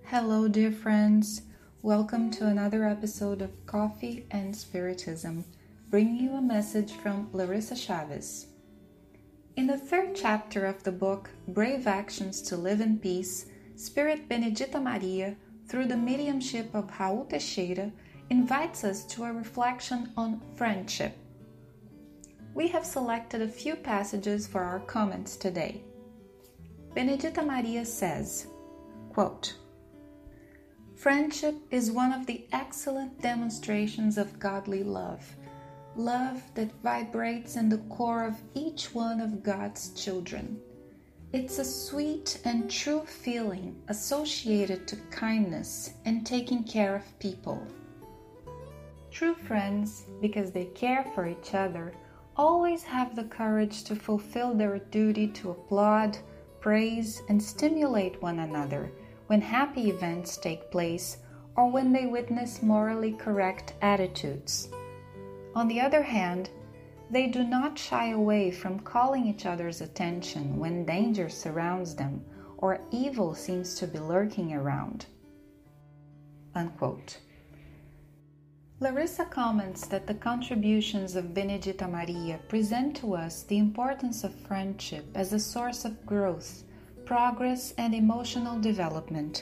Hello, dear friends. Welcome to another episode of Coffee and Spiritism, bringing you a message from Larissa Chavez. In the third chapter of the book, Brave Actions to Live in Peace, Spirit Benedita Maria, through the mediumship of Raul Teixeira, invites us to a reflection on friendship. We have selected a few passages for our comments today. Benedita Maria says, quote, "Friendship is one of the excellent demonstrations of godly love, love that vibrates in the core of each one of God's children. It's a sweet and true feeling associated to kindness and taking care of people. True friends, because they care for each other, always have the courage to fulfill their duty to applaud, praise, and stimulate one another when happy events take place or when they witness morally correct attitudes. On the other hand, they do not shy away from calling each other's attention when danger surrounds them or evil seems to be lurking around." Unquote. Larissa comments that the contributions of Benedita Maria present to us the importance of friendship as a source of growth, progress, and emotional development.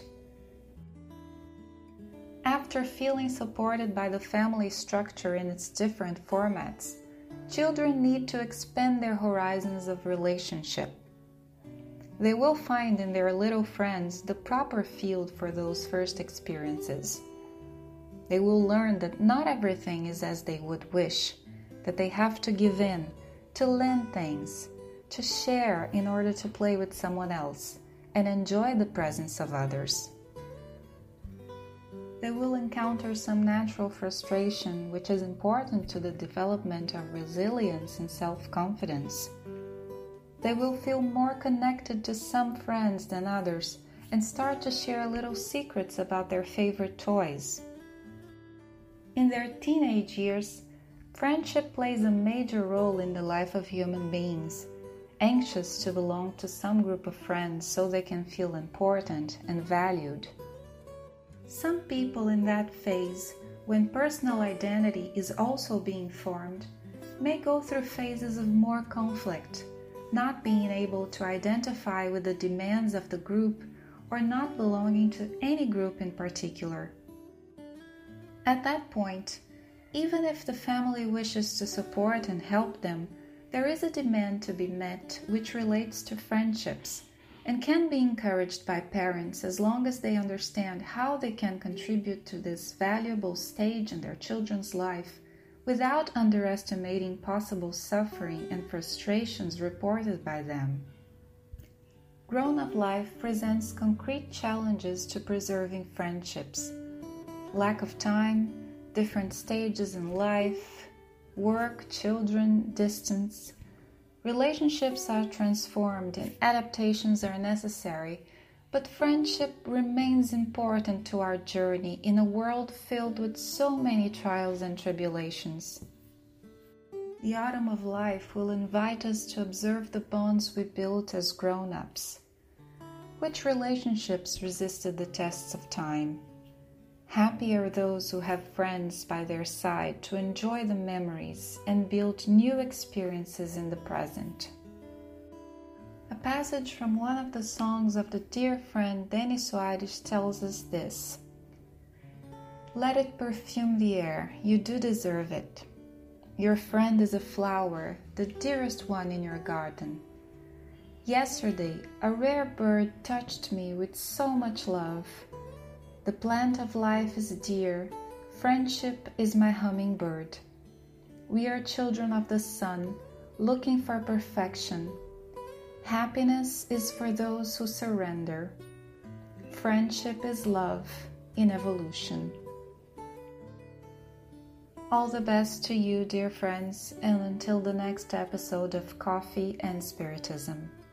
After feeling supported by the family structure in its different formats, children need to expand their horizons of relationship. They will find in their little friends the proper field for those first experiences. They will learn that not everything is as they would wish, that they have to give in, to lend things, to share in order to play with someone else and enjoy the presence of others. They will encounter some natural frustration, which is important to the development of resilience and self-confidence. They will feel more connected to some friends than others and start to share little secrets about their favorite toys. In their teenage years, friendship plays a major role in the life of human beings, anxious to belong to some group of friends so they can feel important and valued. Some people in that phase, when personal identity is also being formed, may go through phases of more conflict, not being able to identify with the demands of the group or not belonging to any group in particular. At that point, even if the family wishes to support and help them, there is a demand to be met which relates to friendships and can be encouraged by parents as long as they understand how they can contribute to this valuable stage in their children's life without underestimating possible suffering and frustrations reported by them. Grown-up life presents concrete challenges to preserving friendships. Lack of time, different stages in life, work, children, distance. Relationships are transformed and adaptations are necessary, but friendship remains important to our journey in a world filled with so many trials and tribulations. The autumn of life will invite us to observe the bonds we built as grown-ups. Which relationships resisted the tests of time? Happy are those who have friends by their side to enjoy the memories and build new experiences in the present. A passage from one of the songs of the dear friend Deni Soares tells us this: "Let it perfume the air, you do deserve it. Your friend is a flower, the dearest one in your garden. Yesterday, a rare bird touched me with so much love. The plant of life is dear, friendship is my hummingbird. We are children of the sun, looking for perfection. Happiness is for those who surrender. Friendship is love in evolution." All the best to you, dear friends, and until the next episode of Coffee and Spiritism.